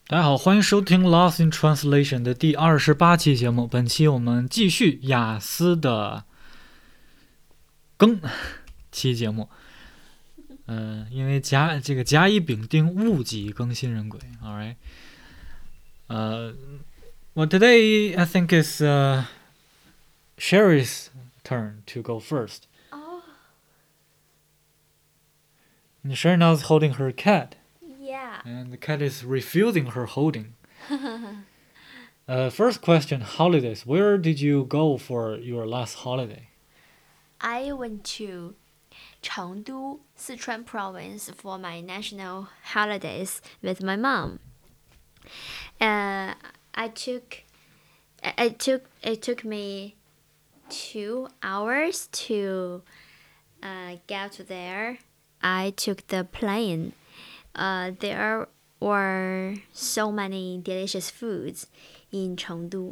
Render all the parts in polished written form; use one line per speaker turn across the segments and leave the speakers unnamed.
大家好，欢迎收听 Lost in Translation 的第28期节目。本期我们继续雅思的更期节目。因为甲乙丙丁戊己更新人鬼。All right. Well, today I think it's Sherry's turn to go first.
Oh,
And Sherry now is holding her cat,
yeah.
and the cat is refusing her holding. First question: holidays. Where did you go for your last holiday?
I went to Chengdu, Sichuan province for my national holidays with my mom. It took me 2 hours to get there. I took the plane. There were so many delicious foods in Chengdu.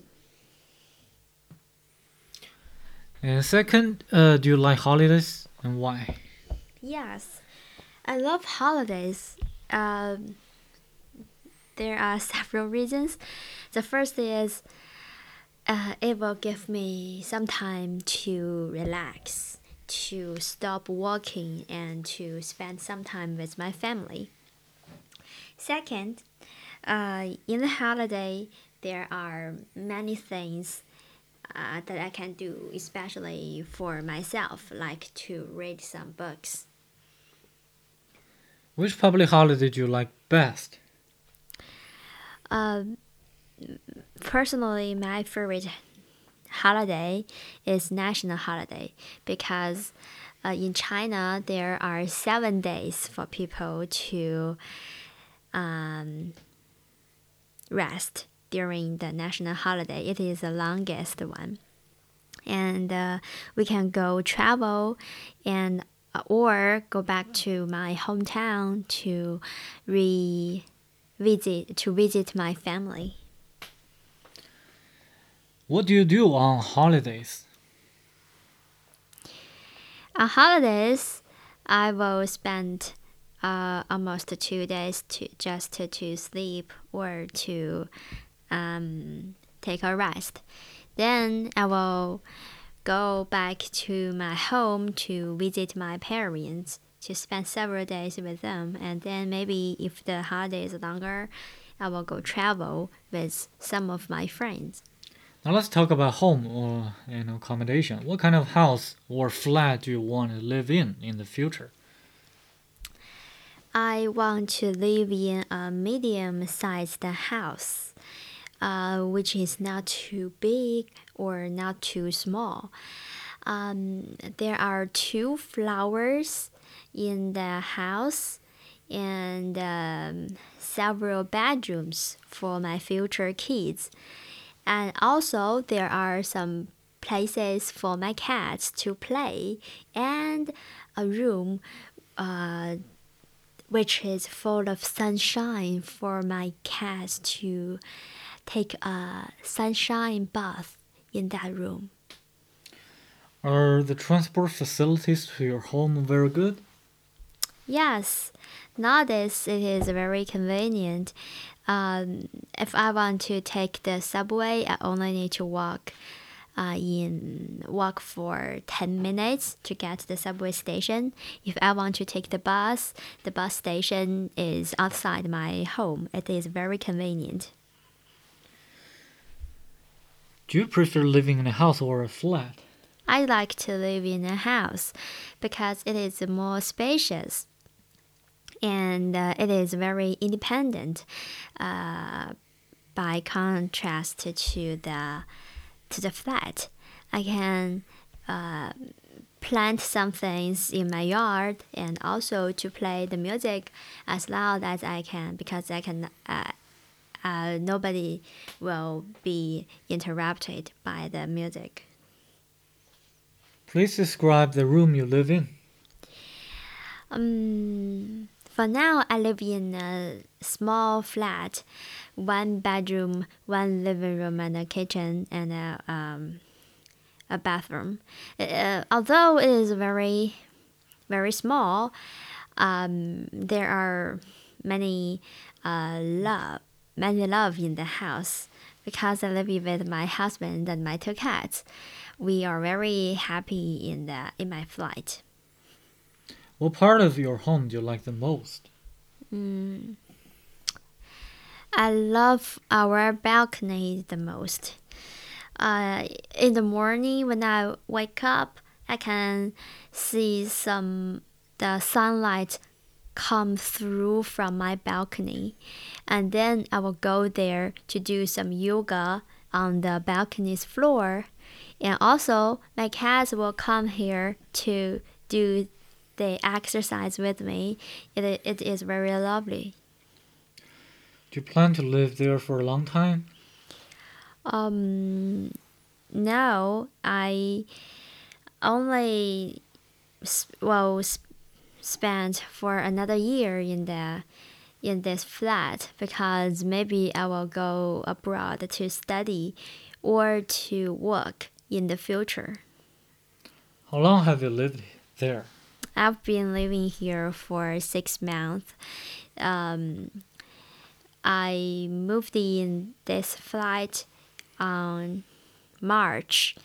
And second, do you like holidays and why?
Yes, I love holidays. There are several reasons. The first is it will give me some time to relax, to stop working, and to spend some time with my family. Second, in the holiday, there are many things that I can do, especially for myself, like to read some books.
Which public holiday do you like best?
Personally, my favorite holiday is national holiday because in China there are 7 days for people to rest during the national holiday. It is the longest one, and we can go travel and or go back to my hometown to visit my family.
What do you do on holidays?
On holidays, I will spend almost 2 days to sleep or to take a rest. Then I will go back to my home to visit my parents to spend several days with them. And then maybe if the holiday is longer, I will go travel with some of my friends.
Now let's talk about home or accommodation. What kind of house or flat do you want to live in the future?
I want to live in a medium-sized house, which is not too big or not too small. There are 2 floors in the house and several bedrooms for my future kids. And also, there are some places for my cats to play and a room which is full of sunshine for my cats to take a sunshine bath in that room.
Are the transport facilities to your home very good?
Yes, nowadays it is very convenient. If I want to take the subway, I only need to walk for 10 minutes to get to the subway station. If I want to take the bus station is outside my home. It is very convenient.
Do you prefer living in a house or a flat?
I like to live in a house because it is more spacious and it is very independent by contrast to the flat. I can plant some things in my yard and also to play the music as loud as I can because I can nobody will be interrupted by the music.
Please describe the room you live in.
For now, I live in a small flat, 1 bedroom, 1 living room, and a kitchen, and a bathroom. Although it is very, very small, there are many many love in the house because I live with my husband and my 2 cats. We are very happy in my flight.
What part of your home do you like the most?
I love our balcony the most. In the morning when I wake up, I can see the sunlight come through from my balcony, and then I will go there to do some yoga on the balcony's floor, and also my cats will come here to do the exercise with me. It is very lovely.
Do you plan to live there for a long time?
No, I only spent for another year in this flat because maybe I will go abroad to study or to work in the future.
How long have you lived there?
I've been living here for 6 months. I moved in this flat on March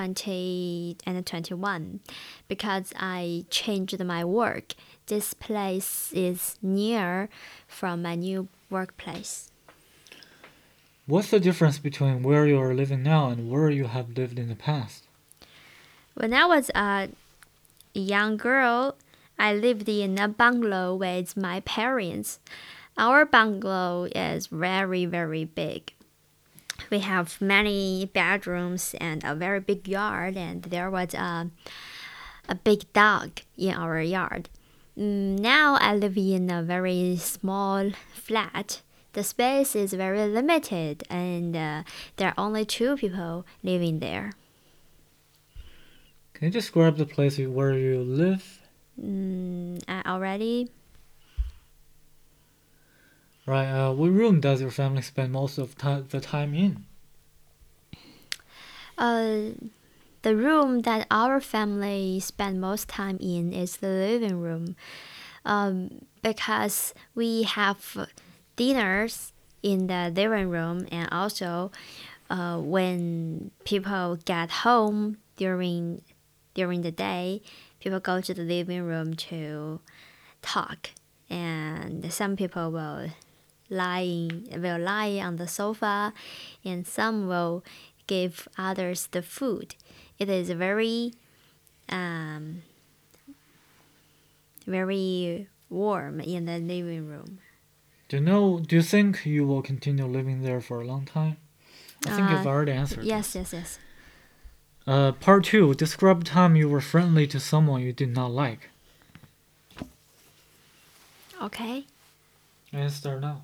2021 because I changed my work. This place is near from my new workplace.
What's the difference between where you are living now and where you have lived in the past?
When I was a young girl, I lived in a bungalow with my parents. Our bungalow is very, very big. We have many bedrooms and a very big yard, and there was a big dog in our yard. Now I live in a very small flat. The space is very limited, and there are only 2 people living there.
Can you describe the place where you live?
Already?
Right, what room does your family spend most of the time in?
The room that our family spend most time in is the living room, because we have dinners in the living room, and also when people get home during the day, people go to the living room to talk, and some people will lie on the sofa, and some will give others the food. It is very very warm in the living room.
Do you think you will continue living there for a long time? I think you've already answered
Yes,
this.
yes.
Part 2. Describe time you were friendly to someone you did not like.
Okay.
And start now.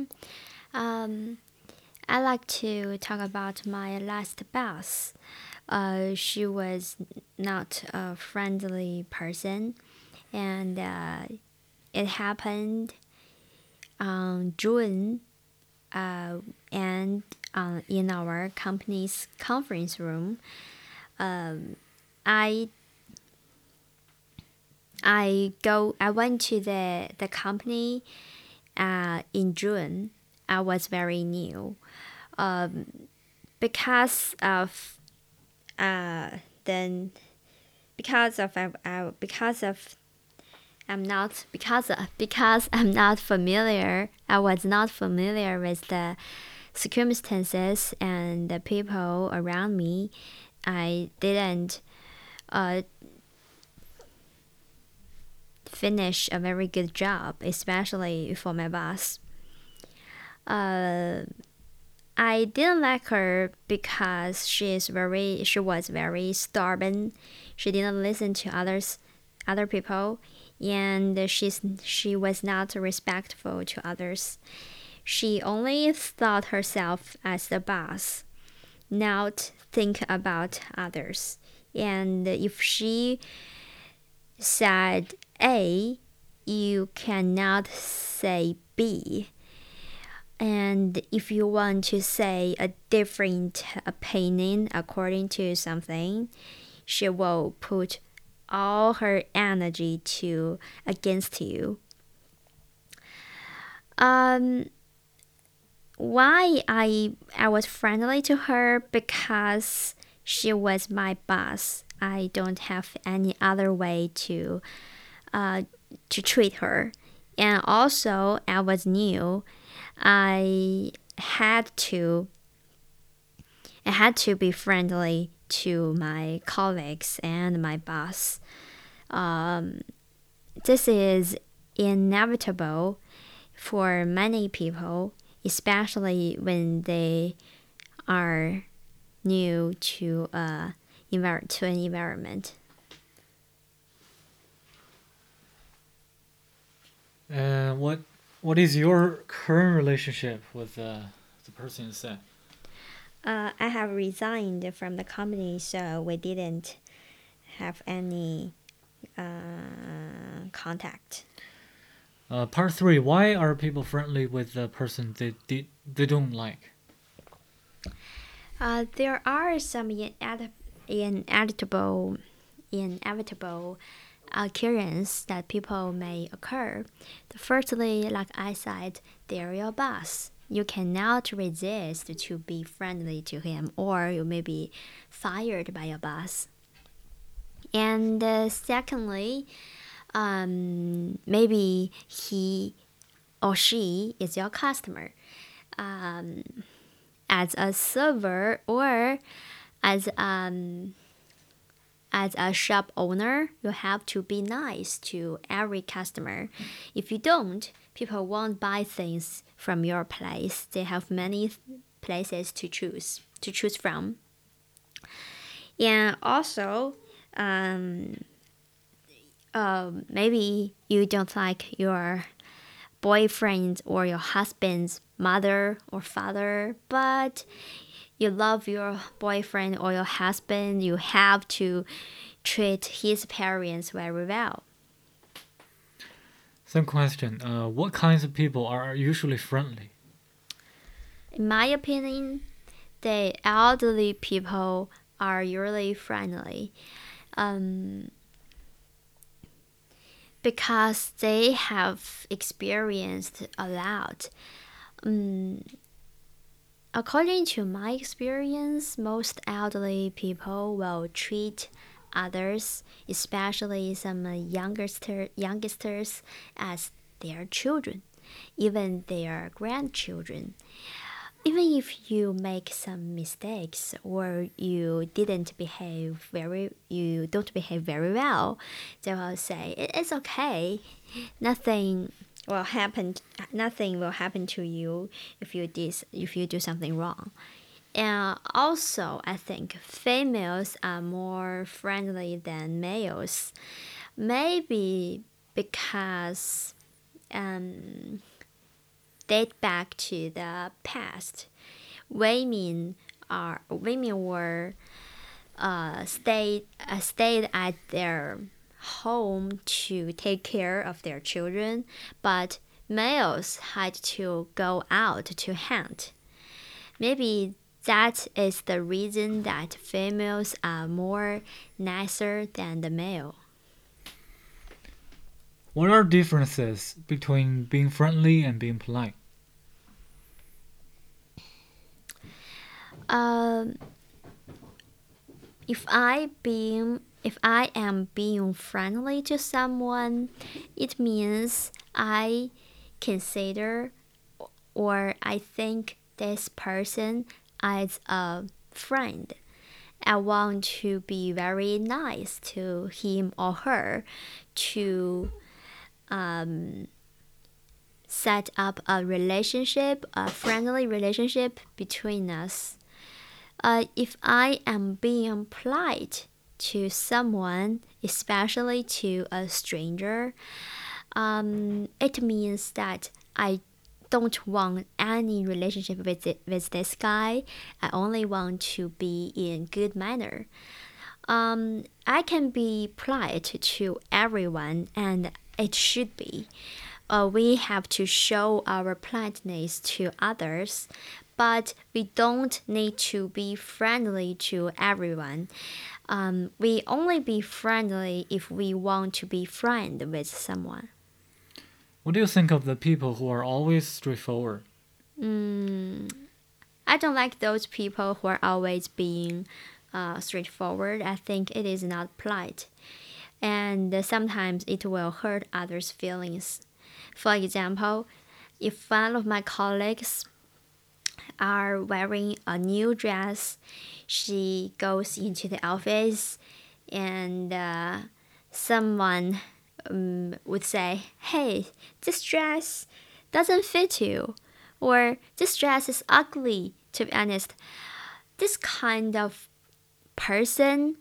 I like to talk about my last boss. She was not a friendly person, and it happened on June, and in our company's conference room. I went to the company in June. I was very new. Because I'm not familiar. I was not familiar with the circumstances and the people around me. I didn't finish a very good job, especially for my boss. I didn't like her because she was very stubborn. She didn't listen to other people, and she was not respectful to others. She only thought herself as the boss, not think about others. And if she said A, you cannot say B. And if you want to say a different opinion according to something, she will put all her energy against you. why I was friendly to her? Because she was my boss. I don't have any other way to treat her. And also, I was new. I had to be friendly to my colleagues and my boss. This is inevitable for many people, especially when they are new to an environment.
What is your current relationship with the person you said?
I have resigned from the company, so we didn't have any contact.
Part 3. Why are people friendly with the person they don't like?
There are some inevitable occurrence that people may occur. Firstly, like I said, they're your boss. You cannot resist to be friendly to him, or you may be fired by your boss. And secondly, maybe he or she is your customer. As a server or as a shop owner, you have to be nice to every customer. If you don't, people won't buy things from your place. They have many places to choose from. And also, maybe you don't like your boyfriend or your husband's mother or father, but you love your boyfriend or your husband, you have to treat his parents very well.
Same question. What kinds of people are usually friendly?
In my opinion, the elderly people are usually friendly. Because they have experienced a lot. According to my experience, most elderly people will treat others, especially some youngsters, as their children, even their grandchildren. Even if you make some mistakes or you don't behave very well, they will say it's okay. Nothing will happen. Nothing will happen to you if you do something wrong. And also, I think females are more friendly than males. Maybe because date back to the past. Women were stayed at their home to take care of their children, but males had to go out to hunt. Maybe that is the reason that females are more nicer than the male.
What are differences between being friendly and being polite?
If I am being friendly to someone, it means I consider or I think this person as a friend. I want to be very nice to him or her to set up a friendly relationship between us. If I am being polite to someone, especially to a stranger, it means that I don't want any relationship with this guy. I only want to be in good manner. I can be polite to everyone, and it should be. We have to show our politeness to others, but we don't need to be friendly to everyone. We only be friendly if we want to be friend with someone.
What do you think of the people who are always straightforward?
I don't like those people who are always being straightforward. I think it is not polite, and sometimes it will hurt others' feelings. For example, if one of my colleagues are wearing a new dress, she goes into the office and someone would say, "Hey, this dress doesn't fit you," or "This dress is ugly." To be honest, this kind of person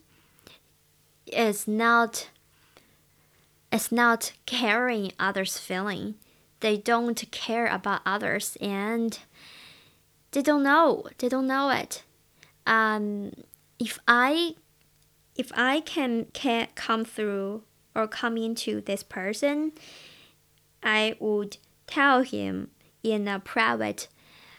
is not caring others' feeling. They don't care about others, and they don't know. They don't know it. Um, if I can come through or come into this person, I would tell him in a private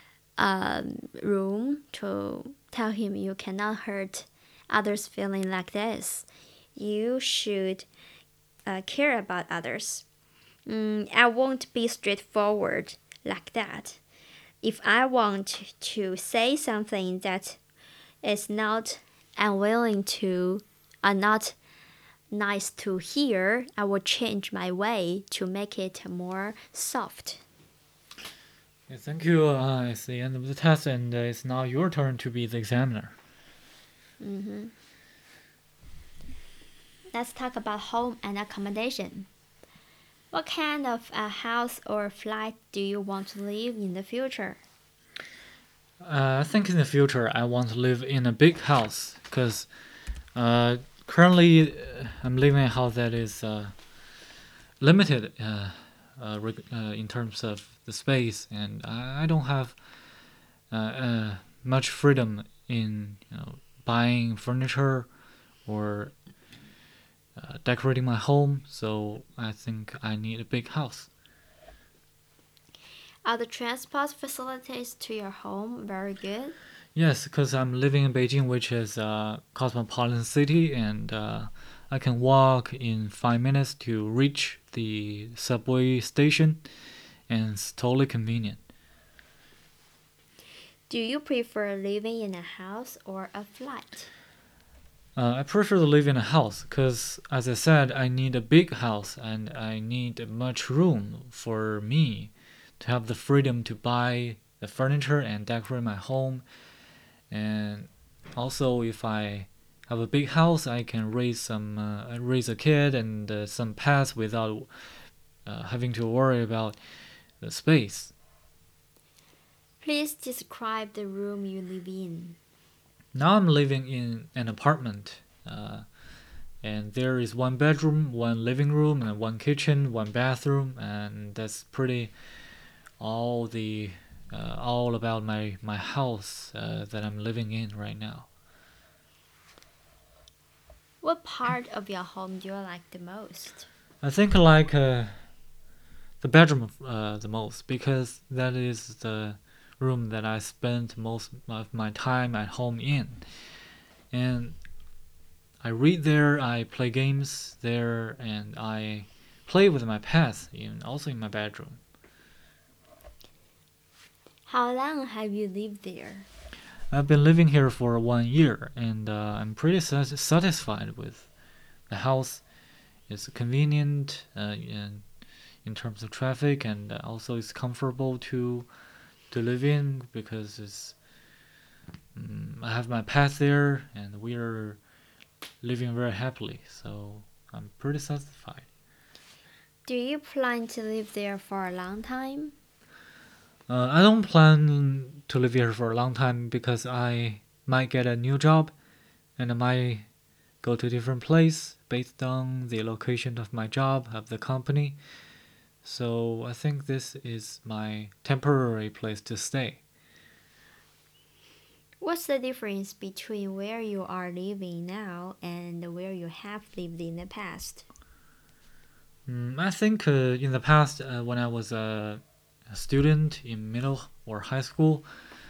room to tell him you cannot hurt others' feeling like this. You should care about others. I won't be straightforward like that. If I want to say something that is not unwilling to, not nice to hear, I will change my way to make it more soft.
Okay, thank you. It's the end of the test, and it's now your turn to be the examiner.
Let's talk about home and accommodation. What kind of a house or flat do you want to live in the future?
I think in the future I want to live in a big house because currently I'm living in a house that is limited in terms of the space, and I don't have much freedom in buying furniture or decorating my home. So I think I need a big house.
Are the transport facilities to your home very good?
Yes, because I'm living in Beijing, which is a cosmopolitan city, and I can walk in 5 minutes to reach the subway station, and it's totally convenient.
Do you prefer living in a house or a flat?
I prefer to live in a house because, as I said, I need a big house and I need much room for me to have the freedom to buy the furniture and decorate my home. And also, if I have a big house, I can raise a kid and some pets without having to worry about the space.
Please describe the room you live in.
Now I'm living in an apartment, and there is one bedroom, one living room, and one kitchen, one bathroom, and that's pretty all about my house that I'm living in right now.
What part of your home do you like the most?
I think I like the bedroom the most because that is the room that I spend most of my time at home in, and I read there, I play games there, and I play with my pets also in my bedroom.
How long have you lived there?
I've been living here for 1 year, and I'm pretty satisfied with the house. It's convenient in terms of traffic, and also it's comfortable to live in because I have my pets there, and we are living very happily. So I'm pretty satisfied.
Do you plan to live there for a long time?
I don't plan to live here for a long time because I might get a new job and I might go to a different place based on the location of my job, of the company. So I think this is my temporary place to stay.
What's the difference between where you are living now and where you have lived in the past?
I think in the past, when I was a student in middle or high school,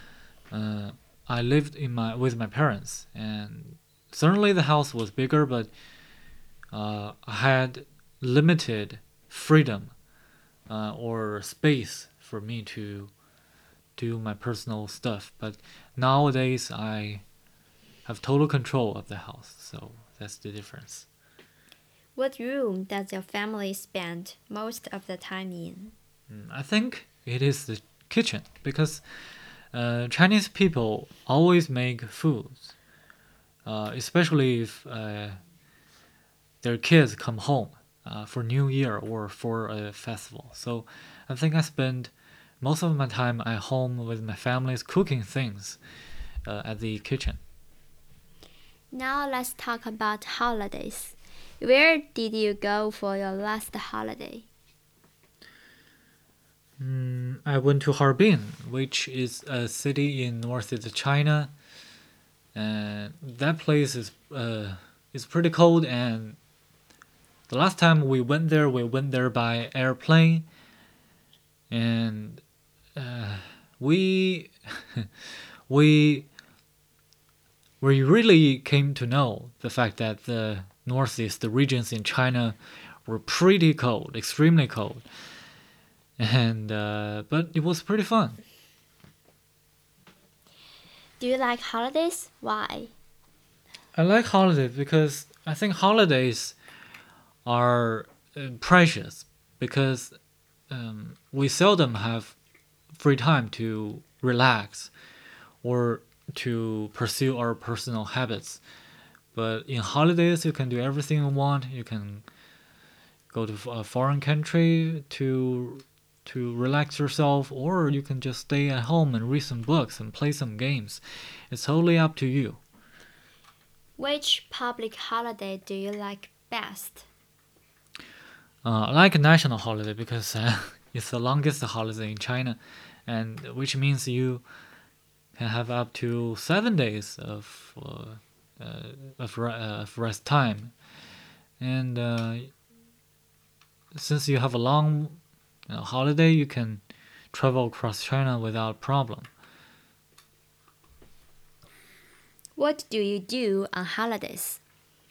I lived with my parents, and certainly the house was bigger, but I had limited freedom or space for me do my personal stuff. But nowadays, I have total control of the house, so that's the difference.
What room does your family spend most of the time in?
I think it is the kitchen because Chinese people always make foods, especially if their kids come home for New Year or for a festival. So I think I spend most of my time at home with my family's cooking things at the kitchen.
Now let's talk about holidays. Where did you go for your last holiday?
I went to Harbin, which is a city in northeast China, and that place is pretty cold. And the last time we went there by airplane, and we we really came to know the fact that the northeast regions in China were pretty cold, extremely cold, and but it was pretty fun.
Do you like holidays? Why?
I like holidays because I think holidays are precious because we seldom have free time to relax or to pursue our personal habits. But in holidays, you can do everything you want. You can go to a foreign country to relax yourself, or you can just stay at home and read some books and play some games. It's totally up to you.
Which public holiday do you like best?
I like a national holiday because it's the longest holiday in China, and which means you can have up to 7 days of rest time. And since you have a long holiday, you can travel across China without problem.
What do you do on holidays?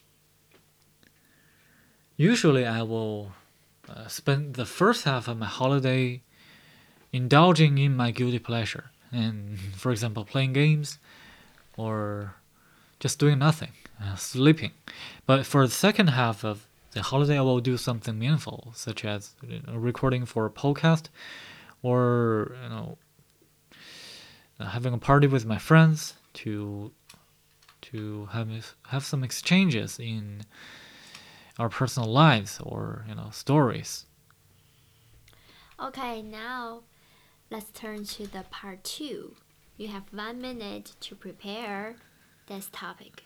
Usually, I will spend the first half of my holiday indulging in my guilty pleasure, and for example, playing games or just doing nothing, sleeping. But for the second half of the holiday, I will do something meaningful, such as recording for a podcast, or having a party with my friends to have some exchanges in our personal lives or stories.
Okay, now let's turn to the part 2. You have 1 minute to prepare this topic.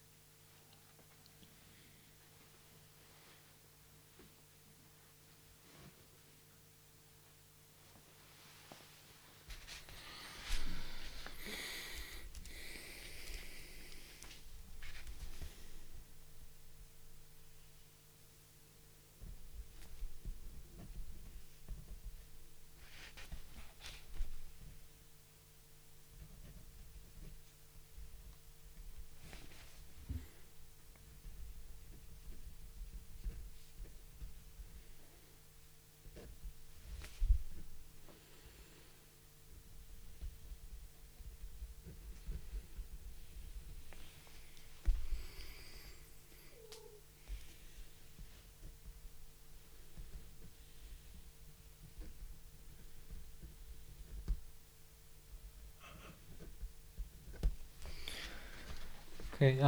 Okay.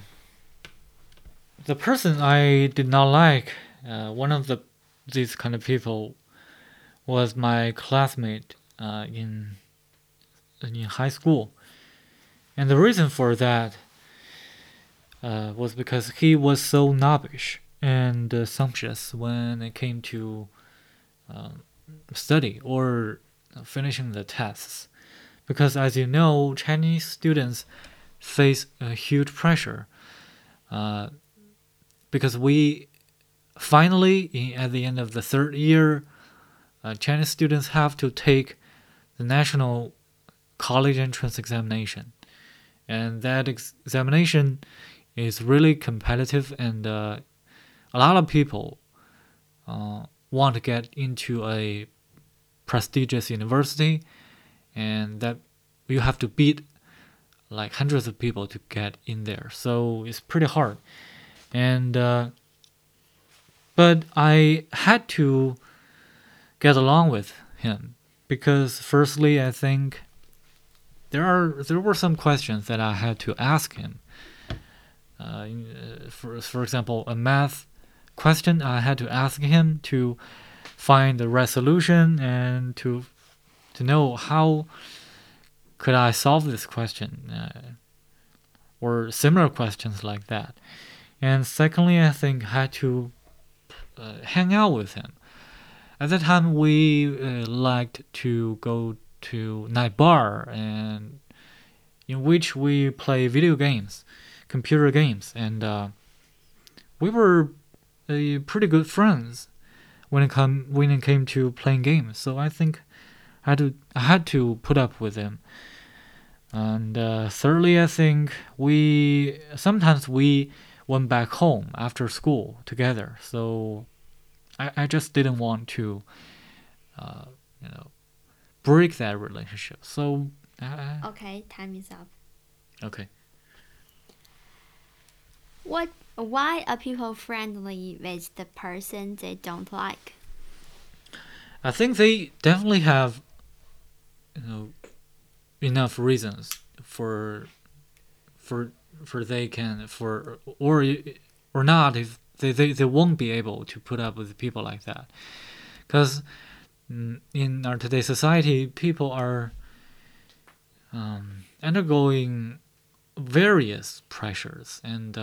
The person I did not like, one of these kind of people, was my classmate in high school, and the reason for that was because he was so snobbish and sumptuous when it came to study or finishing the tests. Because as you know, Chinese students face a huge pressure because we finally, at the end of the third year, Chinese students have to take the national college entrance examination, and that examination is really competitive, and a lot of people want to get into a prestigious university, and that you have to beat like hundreds of people to get in there. So it's pretty hard. And but I had to get along with him because, firstly, I think there were some questions that I had to ask him. For example, a math question, I had to ask him to find the resolution and to know how could I solve this question, or similar questions like that. And secondly, I think I had to hang out with him. At that time, we liked to go to night bar, and in which we play video games, computer games, and we were pretty good friends when it came to playing games. So I think I had to put up with him. And thirdly, I think sometimes we went back home after school together. So I just didn't want to, break that relationship. So
Okay, time is up.
okay.
Why are people friendly with the person they don't like?
I think they definitely have, enough reasons for they can or not if they won't be able to put up with people like that, because in our today's society, people are undergoing various pressures, and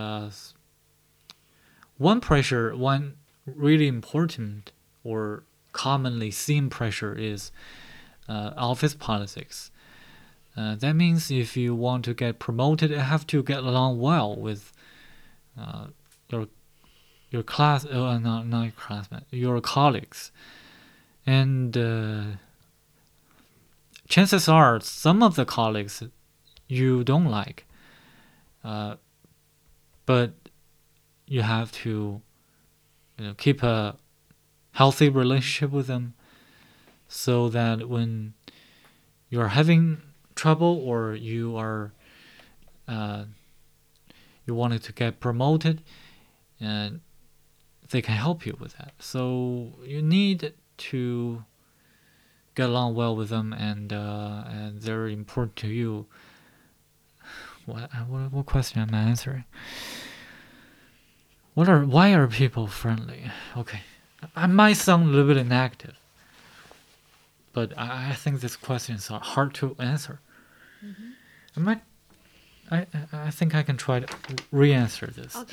one really important or commonly seen pressure is office politics. That means if you want to get promoted, you have to get along well with your class, not your classmates, your colleagues, and chances are some of the colleagues you don't like, but you have to keep a healthy relationship with them, so that when you're having trouble or you are you wanted to get promoted, and they can help you with that. So you need to get along well with them, and they're important to you. What question am I answering? Why are people friendly? Okay, I might sound a little bit negative, but I think these questions are hard to answer.
Mm-hmm.
I think I can try to re-answer this.
Okay.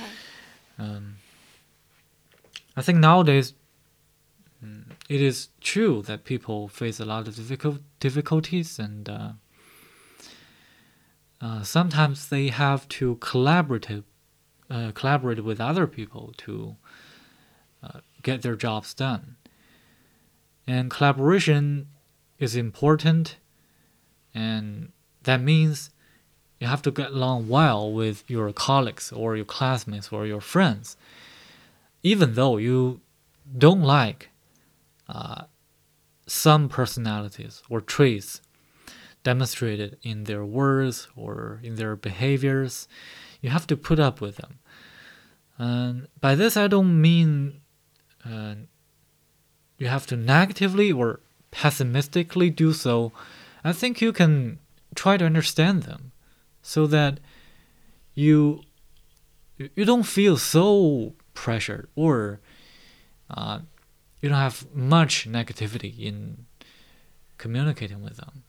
I think nowadays it is true that people face a lot of difficulties, and sometimes they have to collaborate with other people to get their jobs done. And collaboration is important, and that means you have to get along well with your colleagues or your classmates or your friends, even though you don't like some personalities or traits demonstrated in their words or in their behaviors. You have to put up with them. And by this, I don't mean you have to negatively or pessimistically do so. I think you can try to understand them, so that you don't feel so pressured, or you don't have much negativity in communicating with them.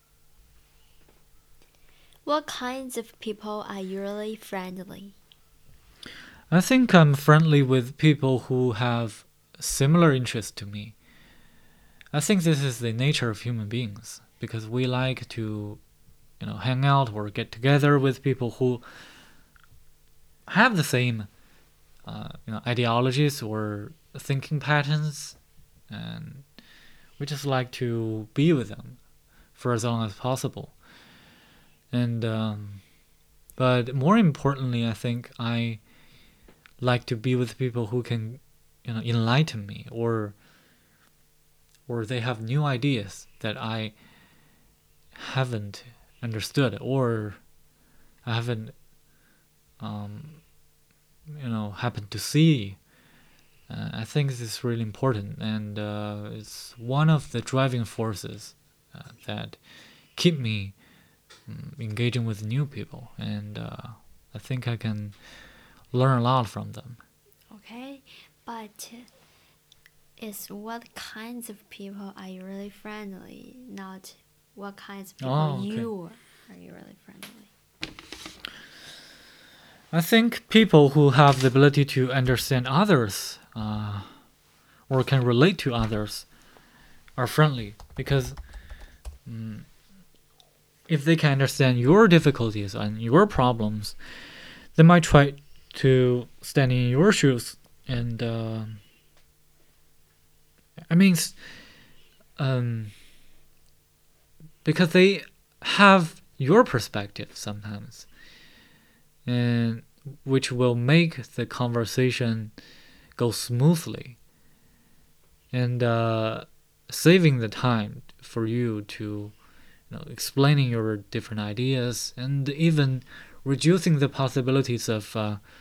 What kinds of people are usually friendly?
I think I'm friendly with people who have similar interests to me. I think this is the nature of human beings, because we like to hang out or get together with people who have the same ideologies or thinking patterns, and we just like to be with them for as long as possible. And but more importantly, I think I like to be with people who can enlighten me, or they have new ideas that I haven't understood, or I haven't happened to see. I think this is really important, and it's one of the driving forces that keep me engaging with new people, and I think I can learn a lot from them.
Okay, but it's what kinds of people are you really friendly, not what kinds of people
Okay.
you are you really friendly.
I think people who have the ability to understand others or can relate to others are friendly, because if they can understand your difficulties and your problems, they might try to stand in your shoes. And because they have your perspective sometimes, and which will make the conversation go smoothly, and saving the time for you to explaining your different ideas, and even reducing the possibilities of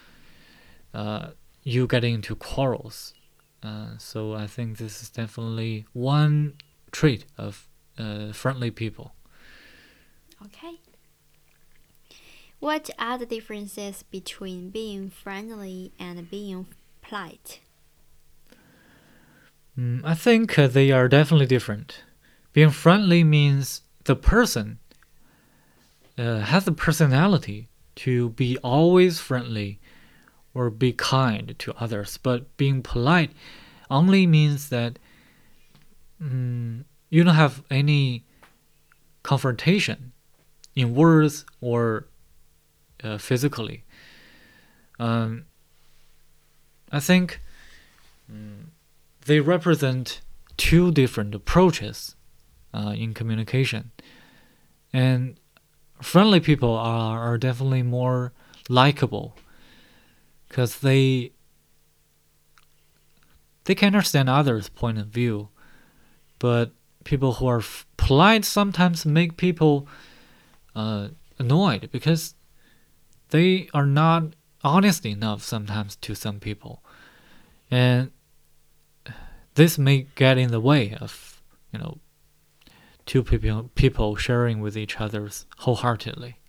you getting into quarrels. So I think this is definitely one trait of friendly people.
Okay. What are the differences between being friendly and being polite?
I think they are definitely different. Being friendly means the person has the personality to be always friendly or be kind to others, but being polite only means that you don't have any confrontation in words or physically. I think they represent two different approaches in communication, and friendly people are definitely more likable because they can understand others' point of view, but people who are polite sometimes make people annoyed because they are not honest enough sometimes to some people, and this may get in the way of two people sharing with each other wholeheartedly.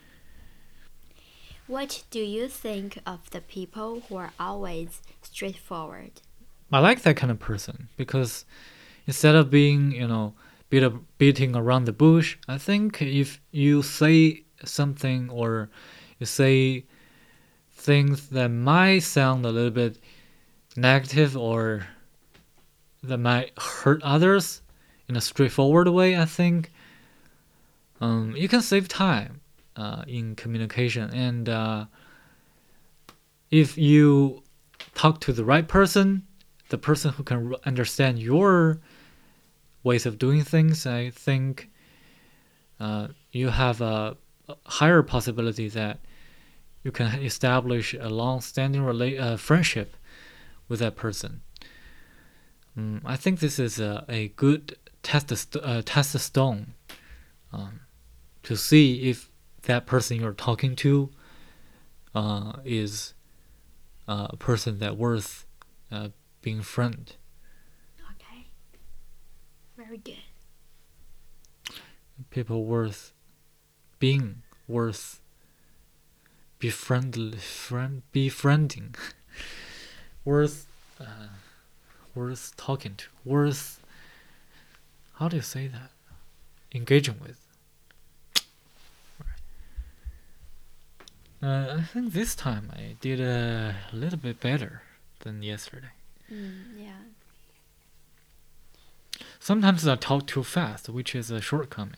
What do you think of the people who are always straightforward?
I like that kind of person because instead of being beating around the bush, I think if you say something or you say things that might sound a little bit negative or that might hurt others in a straightforward way, I think you can save time in communication. And if you talk to the right person, the person who can understand your ways of doing things, I think you have a higher possibility that you can establish a long-standing friendship with that person. I think this is a good test stone to see if that person you're talking to is a person that worth being friend.
Okay. Very good.
People worth being worth befriending worth talking to, worth, how do you say that, engaging with. I think this time I did a little bit better than yesterday.
Yeah.
Sometimes I talk too fast, which is a shortcoming.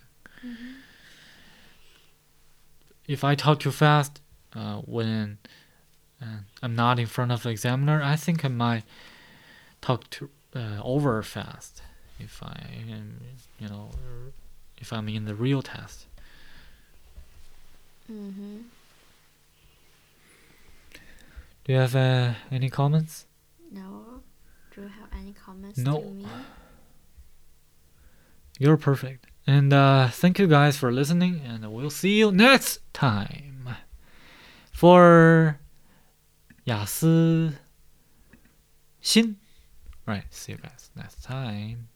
If I talk too fast when I'm not in front of the examiner, I think I might talk too over fast if I am, if I'm in the real test. Do you have any comments?
No. Do you have any comments
No.
to me?
You're perfect. And thank you guys for listening, and we'll see you next time for 雅思新. Right, see you guys next time.